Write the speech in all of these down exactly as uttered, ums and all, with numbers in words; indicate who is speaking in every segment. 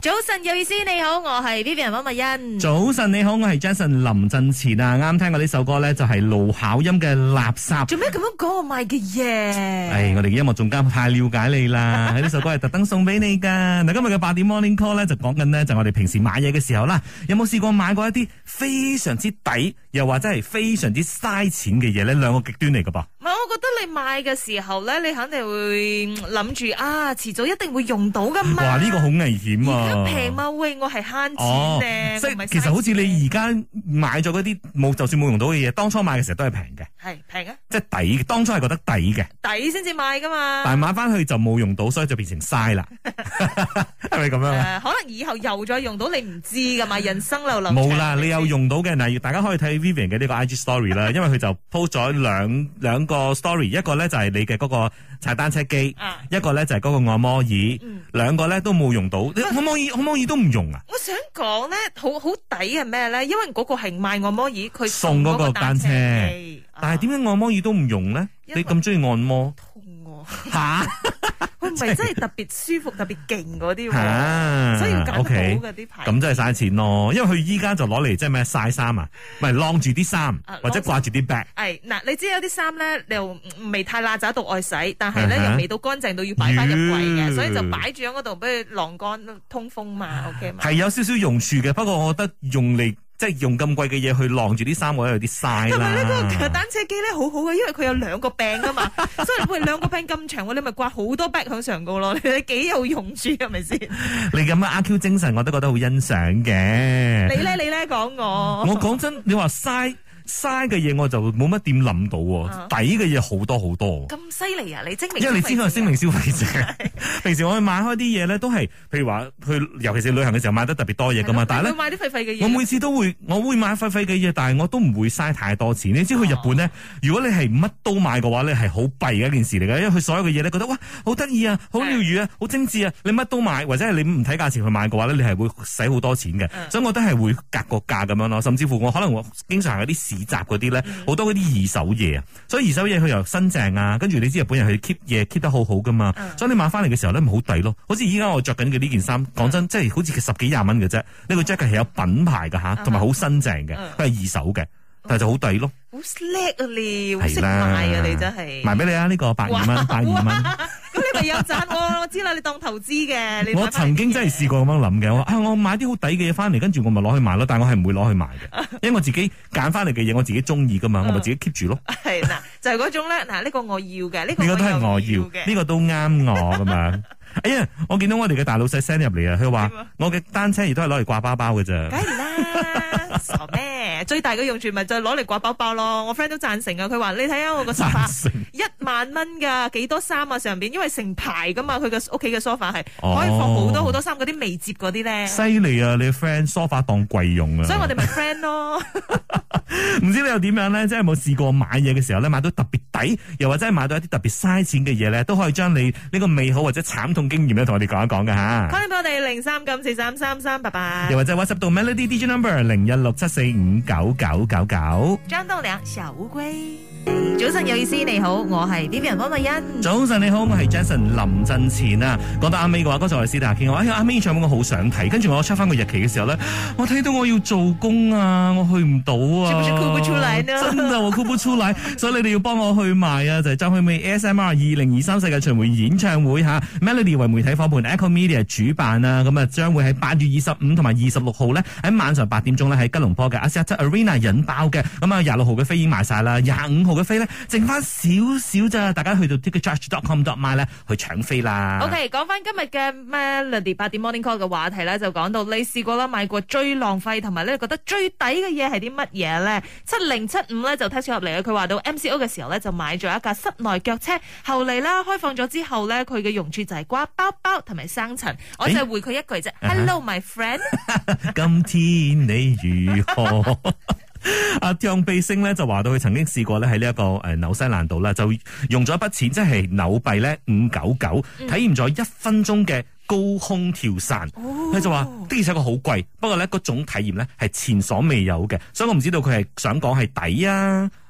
Speaker 1: 早晨有意思，你好，我係 Vivian 溫蜜欣。
Speaker 2: 早晨你好，我係 Jason 林振前啊！啱聽過呢首歌咧，就係盧巧音嘅垃圾。
Speaker 1: 做咩咁樣講我買嘅嘢？
Speaker 2: 唉，我哋嘅音樂總監太了解你啦！呢首歌係特登送俾你噶。嗱，今日嘅八點 Morning Call 咧就講緊呢，就我哋平時買嘢嘅時候啦，有冇試過買過一啲非常之抵，又或者係非常之嘥錢嘅嘢咧？兩個極端嚟噶噃。
Speaker 1: 唔係，我覺得你買嘅時候咧，你肯定會諗住啊，遲早一定會用到噶嘛。
Speaker 2: 哇，呢、這個好危險啊！
Speaker 1: 而家平嘛，喂，我係慳錢咧，
Speaker 2: 即係其實好似你而家買咗嗰啲冇，就算冇用到嘅嘢，當初買嘅時候都係平嘅。
Speaker 1: 係平啊！
Speaker 2: 即係抵，當初係覺得抵嘅，
Speaker 1: 抵先至買噶嘛。
Speaker 2: 但係買翻去就冇用到，所以就變成嘥啦。係咪咁樣啊、
Speaker 1: 呃？可能以後又再用到，你唔知噶嘛。人生流流
Speaker 2: 冇啦，你有用到嘅嗱，大家可以睇 Vivian 嘅呢個 I G Story 啦，因為佢就 post 咗兩兩個 story， 一個咧就係你嘅嗰個踩單車機，啊、一個咧就係嗰個按摩椅，嗯、兩個咧都冇用到。你按摩椅按摩椅都唔用啊？
Speaker 1: 我想講咧，好好抵係咩咧？因為嗰個係賣按摩椅，佢
Speaker 2: 送嗰個單車，
Speaker 1: 啊、
Speaker 2: 但係點解按摩椅都唔用咧？你咁中意按摩？
Speaker 1: 痛喎！
Speaker 2: 吓？
Speaker 1: 佢唔係真係特別舒服、特別勁嗰啲，
Speaker 2: 啊、
Speaker 1: 所以要揀好嘅啲牌。
Speaker 2: 咁真係嘥錢咯，因為佢依家就攞嚟即係咩曬衫啊，咪晾住啲衫或者掛住啲 bag。係
Speaker 1: 嗱，你知有啲衫咧，又未太邋遢到愛洗，但係咧、uh huh. 又未到乾淨到要擺翻入櫃嘅，所以就擺住喺嗰度俾佢晾乾通風嘛。OK 嘛？係
Speaker 2: 有少少用處嘅，不過我覺得用嚟。即係用咁貴嘅嘢去晾住啲衫，我有啲嘥啦。
Speaker 1: 同埋呢個單車機咧好好嘅，因為佢有兩個柄啊嘛，所以喂兩個柄咁長，你咪掛好多 bag 喺上高咯，你幾有用處係咪先？
Speaker 2: 你咁嘅阿 Q 精神，我都覺得好欣賞嘅。
Speaker 1: 你咧你咧講我，
Speaker 2: 我講真，你話嘥。嘥嘅嘢我就冇乜點諗到喎，抵嘅嘢好多好多。
Speaker 1: 咁犀利啊！你精明，
Speaker 2: 因為你知我係精明消費者。平時我去買開啲嘢咧，都係譬如話去，尤其是旅行嘅時候買得特別多嘢噶嘛。但係咧，
Speaker 1: 買啲廢廢嘅嘢。
Speaker 2: 我每次都會，我會買廢廢嘅嘢，但係我都唔會嘥太多錢。你知去日本咧，哦、如果你係乜都買嘅話咧，係好弊嘅一件事嚟嘅，因為佢所有嘅嘢咧覺得哇好得意啊，好療愈啊，好精緻啊，你乜都買，或者係你唔睇價錢去買嘅話咧，你係會使好多錢嘅。嗯、所以我都係會格個價咁樣咯，甚至乎我可能我經常有啲市集嗰啲咧。好多嗰啲二手嘢啊，所以二手嘢佢又新淨啊，跟住你知日本人佢 keep 嘢 keep 得好好噶嘛，嗯、所以你買翻嚟嘅時候咧咪好抵咯。好似依家我着緊嘅呢件衫，講真，即係好似十幾廿蚊嘅啫。呢、呢個 jacket 係有品牌噶吓，同埋好新淨嘅，佢係二手嘅，但係就好抵咯。
Speaker 1: 好叻啊你，好識買啊你真係。
Speaker 2: 賣俾你啊，呢、呢個百二蚊，百二蚊。
Speaker 1: 咁你咪有賺我，我知啦，你當投資嘅。你
Speaker 2: 我曾經真係試過咁樣諗嘅，我啊我買啲好抵嘅嘢翻嚟，跟住我咪攞去賣咯，但係我係唔會攞去賣嘅，因為我自己揀翻嚟嘅嘢我自己中意噶嘛，我咪自己 keep 住咯。
Speaker 1: 係嗱，就係嗰種咧，嗱呢個我要嘅，呢個
Speaker 2: 呢個都係我要嘅，呢個都啱我噶嘛。哎呀，我見到我哋嘅大老細 send 入嚟啊，佢話我嘅單車亦都係攞嚟掛包包嘅啫。
Speaker 1: 梗係啦，傻咩？最大嘅用處咪就係攞嚟掛包包咯。我 friend 都贊成啊，佢話你睇下我個 sofa 一萬蚊噶，幾多衫啊上邊，因為成排噶嘛，佢個屋企嘅 sofa 係可以放好多好多衫，嗰啲未摺嗰啲咧。犀
Speaker 2: 利啊！你 friend sofa 當櫃用啊，
Speaker 1: 所以我哋咪 friend 咯。
Speaker 2: 唔知你又點樣咧？即係有冇試過買嘢嘅時候咧，買到特別抵，又或者係買到一啲特別嘥錢嘅嘢咧，都可以將你呢個美好或者慘痛經驗咧，同我哋講一講嘅吓。
Speaker 1: 歡迎俾我哋零三九四三三三八八，
Speaker 2: 又或者 WhatsApp 到 Melody D J Number 零一六七四五九九九九。
Speaker 1: 張棟梁小烏龜。早晨有意思，你好，我係 Vivian 溫慧欣。
Speaker 2: 早晨你好，我係 Jason 林振前啊。講到阿美嘅話，剛才我哋私底下傾，我哎呀阿美演唱會我好想睇，跟住我 check 翻個日期嘅時候咧，我睇到我要做工啊，我去唔到啊。是不是哭不出來呢？真的我哭不出來，所以你哋要幫我去賣啊！就係張惠妹 A S M R 二零二三世界巡迴演唱會吓 ，Melody 為媒體伙伴 Echo Media 主辦啊，咁啊將會喺八月二十五同埋二十六號咧喺晚上八點鐘咧喺吉隆坡嘅 Axiata Arena 引爆嘅，咁啊廿六號嘅飛已經賣晒啦，廿五號嘅飛咧剩翻少少咋，大家去到 ticket charge dot com dot my 咧去搶飛啦。OK，
Speaker 1: 講翻今日嘅 Melody 八點 Morning Call 嘅話題咧，就講到你試過啦買過最浪費同埋咧覺得最抵嘅嘢係啲乜嘢咧？七零七五咧就 text 入嚟啊，佢話到 M C O 嘅時候咧就買咗一架室內腳車，後嚟啦開放咗之後咧，佢嘅用處就係掛包包同埋生塵，我就係回佢一句啫、欸、，Hello my friend，
Speaker 2: 今天你如何？阿張貝星咧就話到佢曾經試過咧喺呢一個誒紐西蘭度啦，就用咗一筆錢，即係紐幣咧五九九，體驗咗一分鐘嘅高空跳傘。佢、哦、就話的而且確好貴，不過咧嗰種體驗咧係前所未有嘅，所以我唔知道佢係想講係抵啊。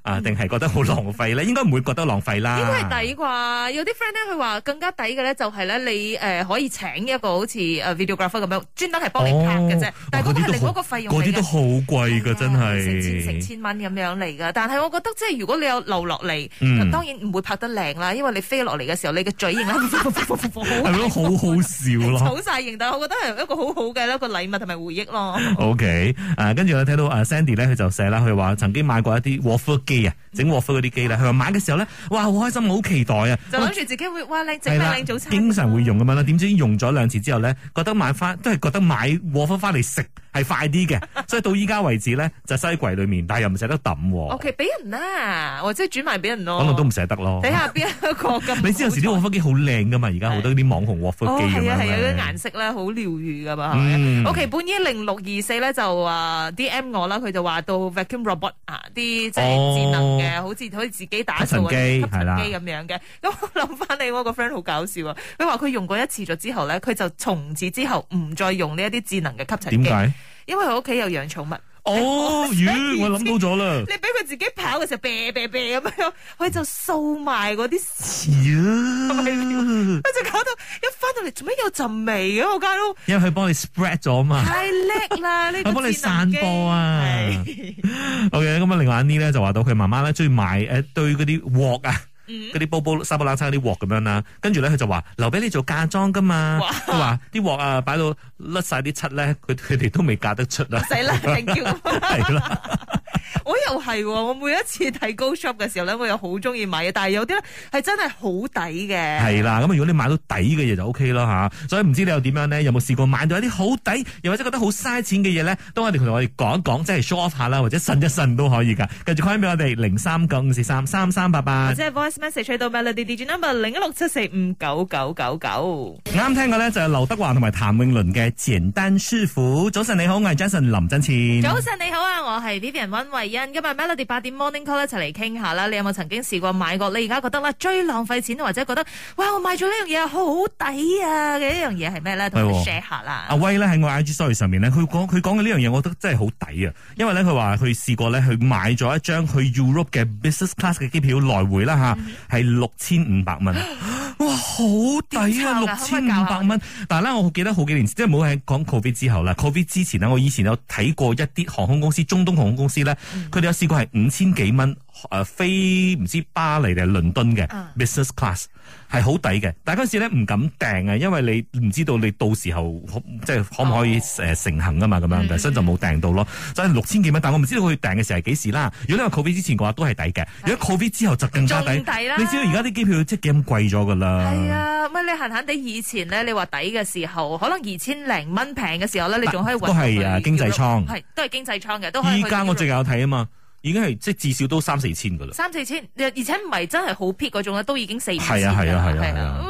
Speaker 2: 啊，定係覺得好浪費咧？應該唔會覺得浪費啦。
Speaker 1: 應該係抵啩？有啲 friend 咧，佢話更加抵嘅咧，就係咧你誒可以請一個好似誒 videographer 咁樣，專登係幫你拍嘅啫。但係嗰個係另外一個費用嚟嘅。
Speaker 2: 嗰啲都好貴㗎，真係
Speaker 1: 成千成千蚊咁樣嚟㗎。但係我覺得即係如果你有留落嚟，當然唔會拍得靚啦，因為你飛落嚟嘅時候，你嘅嘴型咧係
Speaker 2: 咯，好好笑咯，
Speaker 1: 好晒型。但係我覺得係一個好好嘅一個禮物同埋回憶咯。
Speaker 2: OK，誒跟住我睇到誒 Sandy 咧，佢就寫啦，佢話曾經買過一啲 waffle 機啊，整 waffle 嗰啲機咧，佢話買嘅時候咧，哇好開心，好期待啊，
Speaker 1: 就諗住自己會哇靚整咩靚早餐，
Speaker 2: 經常會用咁樣啦。點知用咗兩次之後咧，覺得買翻都係覺得買 waffle 翻嚟食係快啲嘅，所以到依家為止咧就收喺櫃裏面，但係又唔捨得抌。
Speaker 1: OK， 俾人啦，或者轉賣俾人咯，
Speaker 2: 可能都唔捨得咯。
Speaker 1: 睇下邊一個咁。
Speaker 2: 你知有時啲 waffle 機好靚噶嘛，而家好多啲網紅 waffle 機咁樣。
Speaker 1: 係啊係啊，啲顏色咧好療愈噶嘛。
Speaker 2: 嗯、
Speaker 1: OK， 本依零六二四咧就話 D M 我啦，佢就話到 vacuum robot 啊，啲即係智能嘅，好似可以自己打掃嘅吸塵機咁樣嘅。咁我諗翻你我個 friend 好搞笑啊，佢話佢用過一次咗之後咧，佢就從此之後唔再用呢一啲智能嘅吸塵機。點解？因為佢屋企有養寵物。
Speaker 2: 哦，魚，我諗到咗啦！
Speaker 1: 你俾佢自己跑嘅時候，啤啤啤咁樣，佢就掃埋嗰啲屎，佢就搞到一翻到嚟，做咩有陣味嘅我家都？因為佢幫你 spread 咗嘛，太叻啦！呢個佢幫你散播啊。OK， 咁啊，另外一啲咧就話到佢媽媽咧中意買誒對嗰啲鑊啊。嗰啲煲煲沙煲冷餐嗰啲鑊咁樣啦，跟住咧佢就話留俾你做嫁妝噶嘛，佢話啲鑊啊擺到甩晒啲漆咧，佢佢哋都未嫁得出啦，死啦定叫係啦。我又係，我每一次睇 Go Shop 嘅時候咧，我又好中意買嘢，但係有啲咧係真係好抵嘅。係啦，咁如果你買到抵嘅嘢就 O K 啦吓，所以唔知你又點樣咧？有冇試過買到一啲好抵，又或者覺得好嘥錢嘅嘢咧？都可以同我哋講一講，即係 show off 下啦，或者呻一呻都可以噶。繼續 call 俾我哋零三九五四三三三八八，或者係 voice message 去到 Melody D J number 零一六七四五九九九九。啱聽過咧就係劉德華同埋譚詠麟嘅簡單舒服。早晨你好，我係 Jason 林振前。早晨你好啊，我係 Vivian 溫慧欣。今日 Melody 八點 Morning Call 一齊嚟傾下啦。你有冇曾經試過買過？你而家覺得啦最浪費錢，或者覺得哇我買咗呢樣嘢好抵啊嘅一樣嘢係咩咧？同我 share 下啦。阿威咧喺我 I G story 上面咧，佢講佢講嘅呢樣嘢，我覺得真係好抵啊！因為咧佢話佢試過咧去買咗一張去 Europe 嘅 business class 嘅機票來回啦吓，係六千五百蚊。哇，好抵啊！六千五百蚊。但係咧，我記得好幾年前，即係冇喺講 Covid 之後啦。Covid 之前呢，我以前有睇過一啲航空公司，中東航空公司咧，佢哋、嗯、有試過係五千幾蚊誒飛唔知巴黎定係倫敦嘅 business class。係好抵嘅，但係嗰時咧唔敢訂啊，因為你唔知道你到時候即係可唔可以誒成行啊嘛，咁樣嘅，所以就冇訂到咯。所以六千幾蚊，但我唔知道佢訂嘅時候係幾時啦。如果你話 Covid 之前嘅話，都係抵嘅。如果 Covid 之後就更加抵。仲抵啦！你知道而家啲機票即係幾咁貴咗噶啦。係啊，咪你閒閒地以前咧，你話抵嘅時候，可能二千零蚊平嘅時候咧，你仲可以搵到。都係啊，經濟艙。係，都係經濟艙嘅，都可以。依家我最近有睇啊嘛。已經係即係至少都三四千噶啦，三四千，而且唔係真係好撇嗰種咧，都已經四五千。係啊係啊係啊係啊！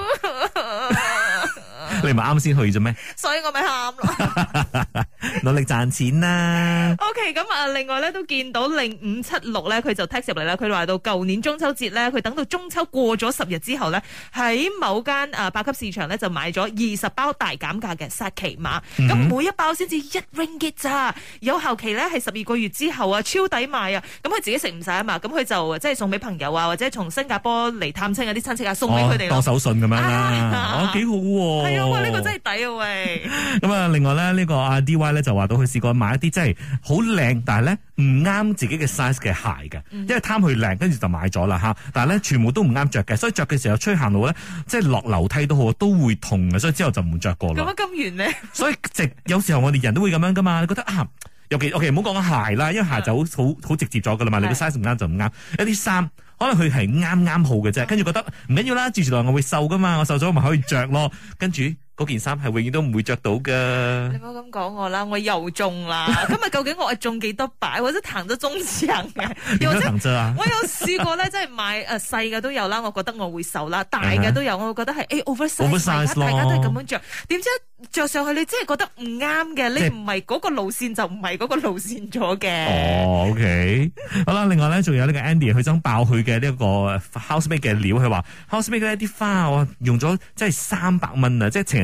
Speaker 1: 你唔係啱先去啫咩？所以我咪喊咯，努力賺錢啦。OK， 咁啊，另外咧都見到零五七六咧，佢就 text 入嚟啦。佢話到舊年中秋節咧，佢等到中秋過咗十日之後咧，喺某間誒八級市場咧就買咗二十包大減價嘅薩琪瑪，咁、嗯、每一包先至一 ringgit 咋，有效期咧係十二個月之後啊，超抵買啊！咁佢自己食唔晒啊嘛，咁佢就即係送俾朋友啊，或者從新加坡嚟探親嗰啲親戚啊，送俾佢哋當手信咁樣啦，哦幾好喎，係啊，哇呢個真係抵啊喂！咁啊，另外咧呢個阿 D Y 咧就話到佢試過買一啲真係好靚，但係咧唔啱自己嘅 size 嘅鞋嘅，因為貪佢靚，跟住就買咗啦吓。但係咧全部都唔啱着嘅，所以着嘅時候出去行路咧，即係落樓梯都好都會痛嘅，所以之後就唔着過啦。咁咁圓咩？所以直有時候我哋人都會咁樣噶嘛，你覺得啊？尤其 OK 唔好講鞋啦，因為鞋就好好好直接咗噶啦嘛，你個 size 唔啱就唔啱。一啲衫可能佢係啱啱好嘅啫，跟住覺得唔緊要啦，住住落我會瘦噶嘛，我瘦咗咪可以着咯，跟住。嗰件衫係永遠都唔會着到噶。你唔好咁講我啦，我又中啦。今日究竟我係中幾多擺，或者彈咗中獎嘅？又或者我有試過咧，即係買誒細嘅都有啦。我覺得我會瘦啦，大嘅都有，我會覺得係誒 oversize，大家都係咁樣着。點知着上去你真係覺得唔啱嘅，你唔係嗰個路線就唔係嗰個路線咗嘅。哦，OK，好啦，另外咧仲有呢個 Andy，佢想爆佢嘅呢一個 housemate 嘅料，佢話 housemate 呢啲花我用咗即係三百蚊啊，即係情人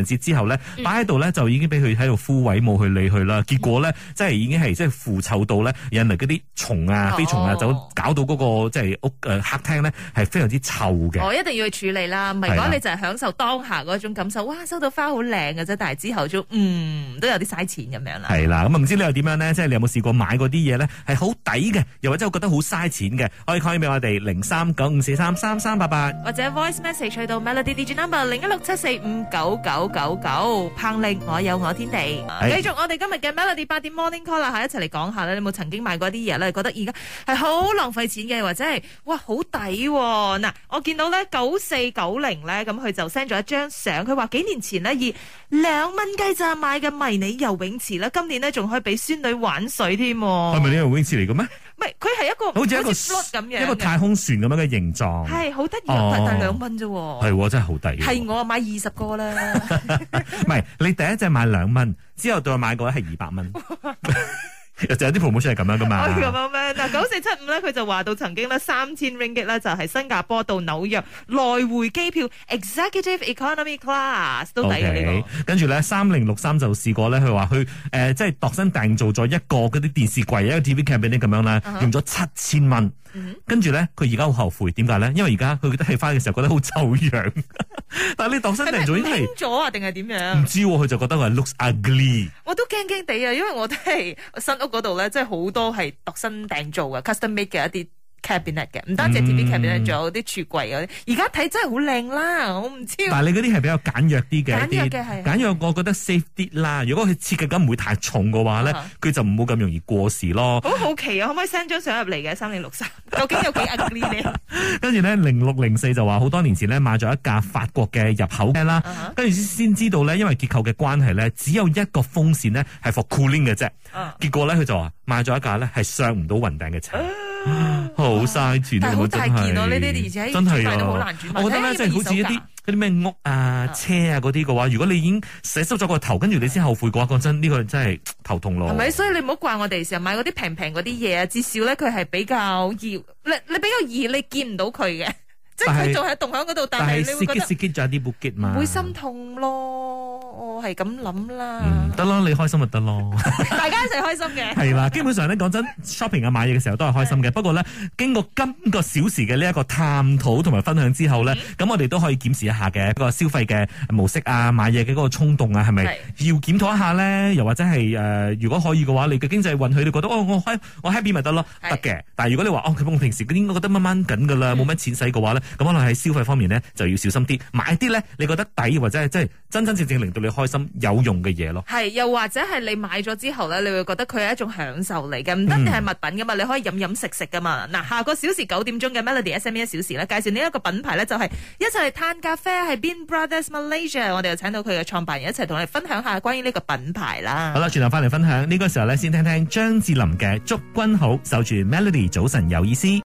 Speaker 2: 人節之後咧，擺喺度咧就已經俾佢喺度枯萎，冇去理佢啦。結果咧，即係已經係即係腐臭到咧，引嚟嗰啲蟲啊、飛蟲啊，就搞到嗰個即係屋誒客廳咧係非常之臭嘅。
Speaker 1: 我一定要去處理啦，唔係講你就係享受當下嗰種感受。哇，收到花好靚嘅啫，但係之後就嗯都有啲嘥錢咁樣啦。
Speaker 2: 係啦，咁啊唔知你又點樣咧？即係你有冇試過買嗰啲嘢咧係好抵嘅，又或者我覺得好嘥錢嘅？可以 call 俾我哋零三九五四三三三八八，
Speaker 1: 或者 voice message 去到 Melody D J number 零一六七四五九九九九。彭力我有我天地，繼續我哋今日嘅 Melody 八點 Morning Call 啦，吓一齊嚟講下咧，你有冇曾經買過啲嘢咧？覺得而家係好浪費錢嘅，或者係哇好抵嗱？我見到咧九四九零咧，咁佢就 send 咗一張相，佢話幾年前呢，以兩蚊雞咋買嘅迷你游泳池啦，今年呢，仲可以俾孫女玩水添。
Speaker 2: 係咪呢個游泳池嚟嘅咩？
Speaker 1: 唔係，佢係一個
Speaker 2: 好似一個
Speaker 1: float 咁樣，
Speaker 2: 一個太空船咁樣嘅形狀，
Speaker 1: 係好得意，但係兩蚊啫。
Speaker 2: 係真係好抵。
Speaker 1: 係我買二十個啦。
Speaker 2: 唔係，你第一隻買兩蚊，之後再買個係二百蚊。就有啲 promotion 係咁樣噶嘛？
Speaker 1: 咁樣咩？嗱，九四七五咧，佢就話到曾經咧三千 ringgit 咧，就係新加坡到紐約來回機票 executive economy class 都抵嘅呢個。
Speaker 2: 跟住咧，三零六三就試過咧，佢話佢誒即係度身訂做咗一個嗰啲電視櫃，一個 T V cabinet 咁樣啦，用咗七千蚊。跟住咧，佢而家好後悔，點解咧？因為而家佢覺得起翻嘅時候覺得好醜樣。但係你度身訂做已經係
Speaker 1: 咗啊，定係點樣？
Speaker 2: 唔知佢就覺得佢係 looks ugly。
Speaker 1: 我都驚驚地啊，因為我都係新屋嗰度咧，即係好多係度身訂做嘅 custom made 嘅一啲 cabinet 嘅，唔單止 T V cabinet，仲有啲櫥櫃嗰啲。而家睇真係好靚啦，我唔知。
Speaker 2: 但係你嗰啲係比較簡約啲嘅，
Speaker 1: 簡約嘅係
Speaker 2: 簡約，我覺得 safe 啲啦。如果佢設計感唔會太重嘅話咧，佢就唔好咁容易過時咯。
Speaker 1: 好好奇啊，可唔可以 send 張相入嚟嘅？三零六三究竟有幾 ugly 咧？
Speaker 2: 跟住咧，零六零四就話好多年前咧買咗一架法國嘅入口車啦，跟住先知道咧，因為結構嘅關係咧，只有一個風扇咧係 for cooling 嘅啫。結果咧佢就話買咗一架咧係上唔到雲頂嘅車。好嘥錢，
Speaker 1: 但係好大件咯，呢啲而且真係都好難轉賣。
Speaker 2: 我覺得咧，即係好似一啲嗰啲咩屋啊、車啊嗰啲嘅話，如果你已經洗濕咗個頭，跟住你先後悔嘅話，講真，呢個真係頭痛咯。
Speaker 1: 係咪？所以你唔好怪我哋成日買嗰啲平平嗰啲嘢啊，至少咧佢係比較易，你你比較易，你見唔到佢嘅，即係佢仲係棟喺嗰度，但係你會覺得
Speaker 2: 咗啲布吉嘛，
Speaker 1: 會心痛咯。我係咁諗啦，
Speaker 2: 得咯、嗯，你開心就得咯，
Speaker 1: 大家一齊開心嘅。
Speaker 2: 係啦，基本上咧講真 ，shopping 啊買嘢嘅時候都係開心嘅。不過咧，經過今個小時嘅呢一個探討同埋分享之後咧，咁、嗯、我哋都可以檢視一下嘅一個消費嘅模式啊，買嘢嘅嗰個衝動啊，係咪要檢討一下咧？又或者係誒、呃，如果可以嘅話，你嘅經濟允許，你覺得哦，我開我 happy 咪得咯，得嘅。但係如果你話哦，佢我平時應該覺得掹掹緊噶啦，冇、嗯、乜錢使嘅話咧，咁可能喺消費方面咧就要小心啲，買啲咧你覺得抵或者係即係真真正正令到你開心有用嘅嘢咯。係，
Speaker 1: 又或者係你買咗之後咧，你會覺得佢係一種享受嚟嘅，唔單止係物品噶嘛、嗯，你可以飲飲食食噶嘛。嗱，下個小時九點鐘嘅 Melody S M E 一小時咧，介紹呢一個品牌咧，就係一齊嚟嘆咖啡，係 Bean Brothers Malaysia， 我哋就請到佢嘅創辦人一齊同我哋分享下關於呢個品牌啦。
Speaker 2: 好啦，轉頭翻嚟分享呢、這個時候咧，先聽聽張智霖嘅祝君好，守住 Melody 早晨有意思。